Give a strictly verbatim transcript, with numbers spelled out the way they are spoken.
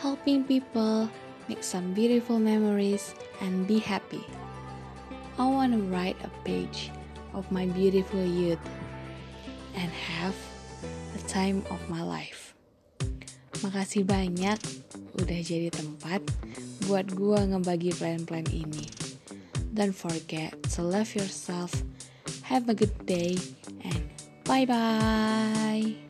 helping people make some beautiful memories and be happy. I want to write a page of my beautiful youth and have a time of my life. Makasih banyak udah jadi tempat buat gua ngebagi plan-plan ini. Don't forget to love yourself. Have a good day and bye-bye.